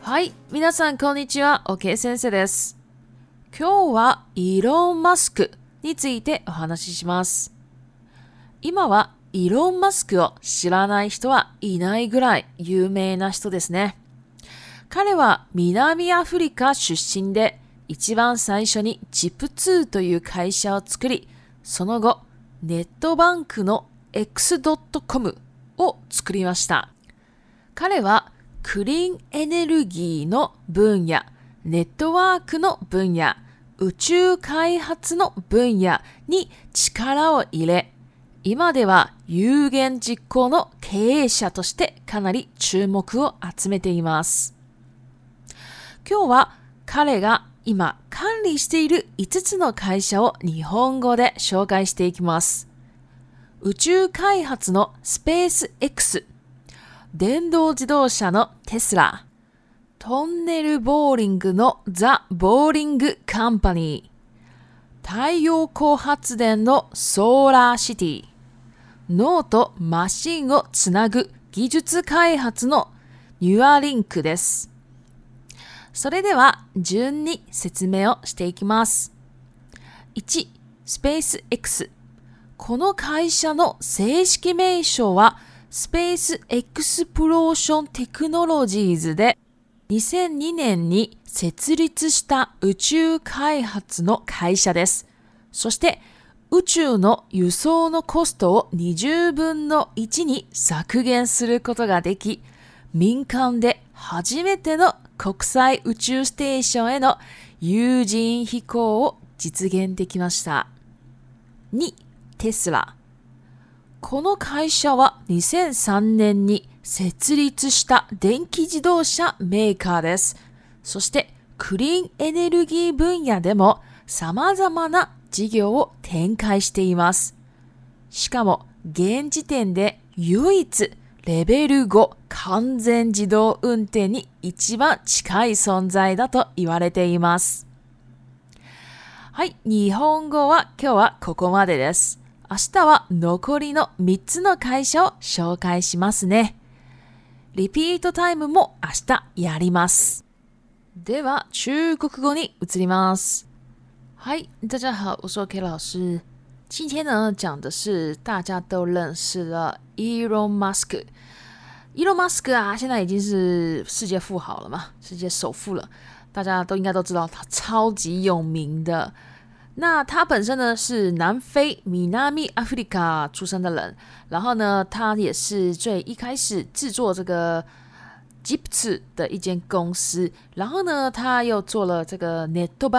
はい、皆さんこんにちは、OK 先生です。今日はイーロン・マスクについてお話しします。今はイーロン・マスクを知らない人はいないぐらい有名な人ですね。彼は南アフリカ出身で、一番最初に Chip2 という会社を作り、その後、ネットバンクの X.com を作りました。彼はクリーンエネルギーの分野、ネットワークの分野、宇宙開発の分野に力を入れ、今では有言実行の経営者としてかなり注目を集めています。今日は彼が今管理している5つの会社を日本語で紹介していきます。宇宙開発のスペース X、電動自動車のテスラ、トンネルボーリングのザ・ボーリングカンパニー、太陽光発電のソーラーシティ、脳とマシンをつなぐ技術開発のニュアリンクです。それでは順に説明をしていきます。1、スペース X。この会社の正式名称はスペースエクスプローションテクノロジーズで2002年に設立した宇宙開発の会社です。そして宇宙の輸送のコストを20分の1に削減することができ、民間で初めての国際宇宙ステーションへの有人飛行を実現できました。2、テスラ。この会社は2003年に設立した電気自動車メーカーです。そしてクリーンエネルギー分野でも様々な事業を展開しています。しかも現時点で唯一レベル5完全自動運転に一番近い存在だと言われています。はい、日本語は今日はここまでです。明日は残りの3つの会社を紹介しますね。リピートタイムも明日やります。では中国語に移ります。嗨，大家好，我是 OK 老师。今天呢，讲的是大家都认识的 Elon Musk。Elon Musk 啊，现在已经是世界富豪了嘛，世界首富了，大家都应该都知道他超级有名的。那他本身呢是南非南阿弗利卡出生的人，然后呢，他也是最一开始制作这个 Chip2 的一间公司，然后呢，他又做了这个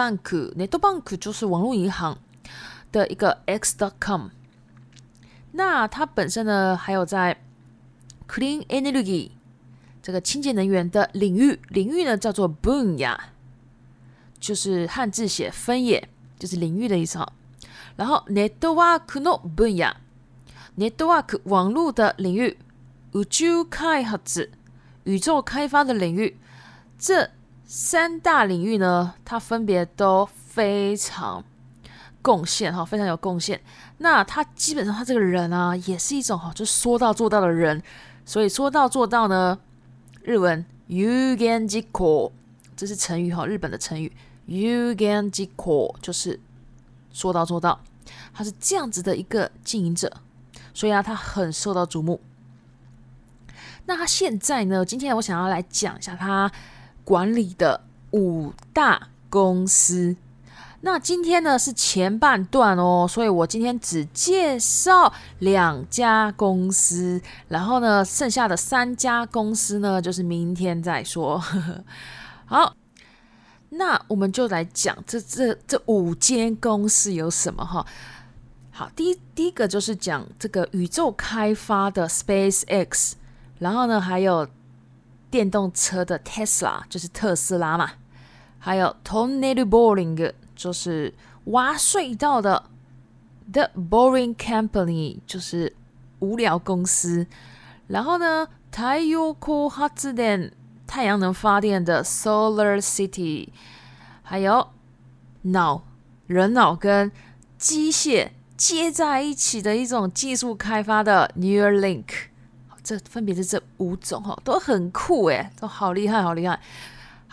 NetBank 就是网络银行的一个 X.com。那他本身呢，还有在 Clean Energy 这个清洁能源的领域呢叫做分野，就是汉字写分野，就是领域的意思哈。然后 Network の分野 ，Network 网络的领域，宇宙開発宇宙开发的领域，这三大领域呢，它分别都非常贡献哈，非常有贡献。那他基本上他这个人啊，也是一种就说到做到的人。所以说到做到呢，日文有言実行，这是成语哈，日本的成语有言実行就是说到做到。他是这样子的一个经营者，所以啊，他很受到瞩目。那他现在呢？今天我想要来讲一下他管理的5大公司。那今天呢是前半段哦，所以我今天只介绍2家公司，然后呢，剩下的3家公司呢，就是明天再说。好，那我们就来讲这5间公司有什么哈。好，第一个就是讲这个宇宙开发的 SpaceX。然后呢，还有电动车的 Tesla， 就是特斯拉嘛，还有 Tunnel Boring， 就是挖隧道的 The Boring Company， 就是无聊公司。然后呢，太陽光発電，太阳能发电的 Solar City， 还有人脑跟机械接在一起的一种技术开发的 Neuralink。这分别是这5种都很酷耶，都好厉害好厉害。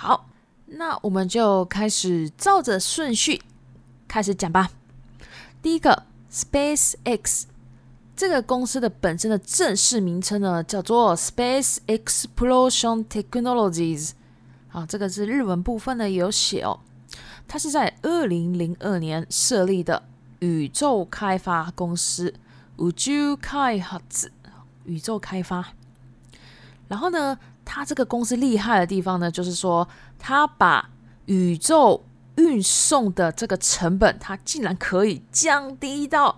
好，那我们就开始照着顺序开始讲吧。第一个 SpaceX 这个公司的本身的正式名称呢，叫做 Space Exploration Technologies。好，这个是日文部分呢也有写哦。它是在2002年设立的宇宙开发公司，宇宙開発，宇宙开发。然后呢，它这个公司厉害的地方呢，就是说它把宇宙运送的这个成本，它竟然可以降低到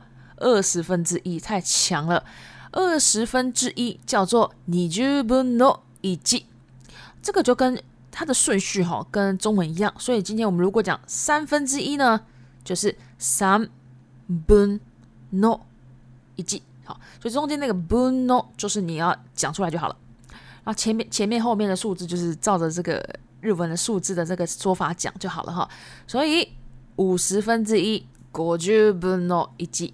1/20，太强了。1/20叫做20分の1，这个就跟它的顺序跟中文一样，所以今天我们如果讲1/3呢，就是3分の1。好，所以中间那个分の就是你要讲出来就好了。然后前面后面的数字就是照着这个日文的数字的这个说法讲就好了哈。所以50分之1、50分の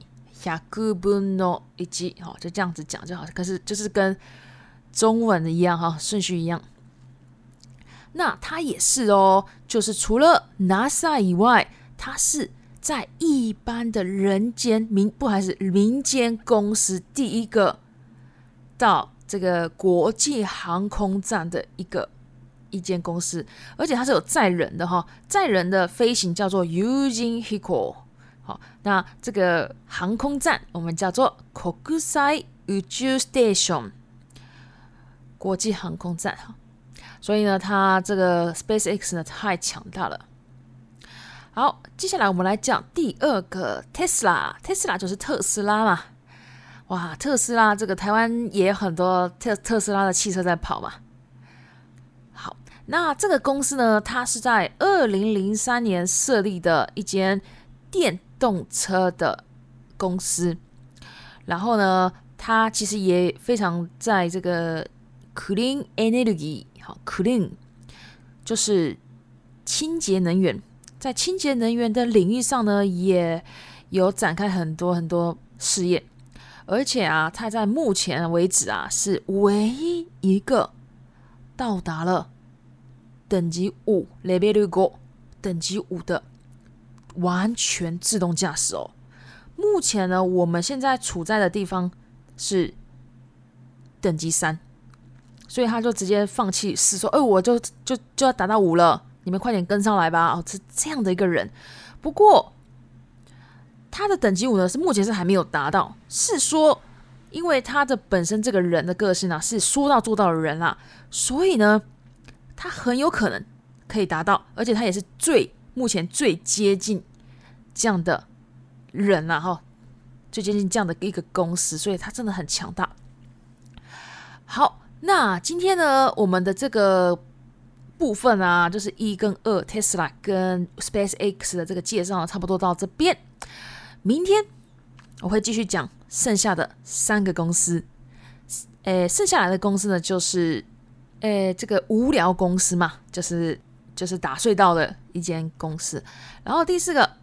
1、100分の1，就这样子讲就好。可是就是跟中文的一样哈，顺序一样。那它也是哦，就是除了 NASA 以外，它是在一般的民间公司第一个到这个国际航空站的一间公司，而且它是有载人的哈，载人的飞行叫做 Using Hiko。好，那这个航空站我们叫做国際宇宙 Station， 国际航空站。所以呢，它这个 SpaceX 呢太强大了。好，接下来我们来讲第二个 Tesla 就是特斯拉嘛。哇，特斯拉这个台湾也有很多特斯拉的汽车在跑嘛。好，那这个公司呢，它是在2003年设立的一间电动车的公司。然后呢，它其实也非常在这个 Clean Energy， 好 ，Clean 就是清洁能源，在清洁能源的领域上呢，也有展开很多很多事业。而且啊，它在目前为止啊，是唯一一个到达了等级5 Level 5等级5的完全自动驾驶哦。目前呢，我们现在处在的地方是等级3，所以他就直接放弃试说，我就要达到5了，你们快点跟上来吧。是这样的一个人。不过他的等级5呢，是目前是还没有达到，是说因为他的本身这个人的个性啊，是说到做到的人啦，所以呢，他很有可能可以达到，而且他也是目前最接近这样的人啦，最接近这样的一个公司，所以他真的很强大。好，那今天呢，我们的这个部分啊，就是1跟2 Tesla 跟 SpaceX 的这个介绍差不多到这边。明天我会继续讲剩下的3个公司。剩下来的公司呢，就是这个无聊公司嘛，就是打隧道的一间公司。然后第4个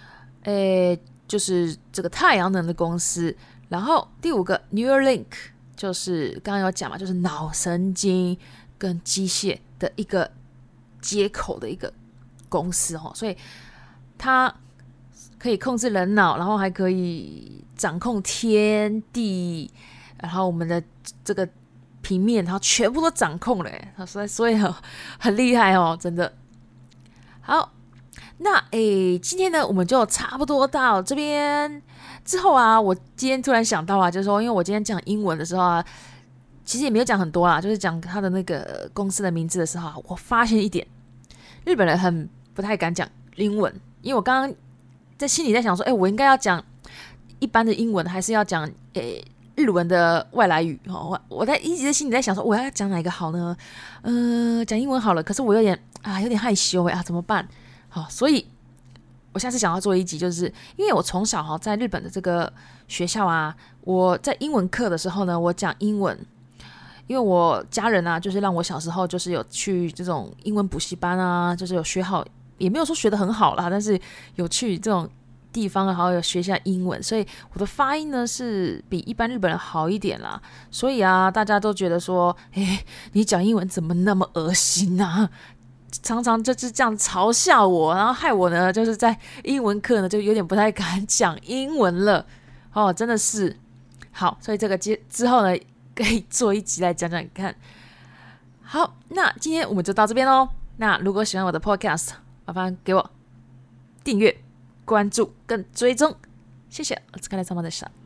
就是这个太阳能的公司。然后第5个 Neuralink， 就是刚刚有讲嘛，就是脑神经跟机械的一个接口的一个公司所以它可以控制人脑，然后还可以掌控天地，然后我们的这个平面，然后全部都掌控了所以很厉害真的。好，那今天呢，我们就差不多到这边。之后啊，我今天突然想到啊，就是说，因为我今天讲英文的时候啊，其实也没有讲很多啦，就是讲他的那个公司的名字的时候啊，我发现一点，日本人很不太敢讲英文，因为我刚刚在心里在想说，我应该要讲一般的英文，还是要讲日文的外来语我一直在心里在想说，我要讲哪一个好呢？讲英文好了，可是我有点害羞怎么办？好，所以我下次想要做一集，就是因为我从小在日本的这个学校啊，我在英文课的时候呢，我讲英文，因为我家人啊，就是让我小时候就是有去这种英文补习班啊，就是有学好，也没有说学得很好啦，但是有去这种地方，然后有学一下英文，所以我的发音呢是比一般日本人好一点啦。所以啊，大家都觉得说，你讲英文怎么那么恶心啊？ 常常就是这样嘲笑我，然后害我呢就是在英文课呢就有点不太敢讲英文了。真的是好，所以这个之后呢可以做一集来讲讲看。好，那今天我们就到这边咯。那如果喜欢我的 podcast， 麻烦给我订阅、关注跟追踪，谢谢。お疲れ様でした。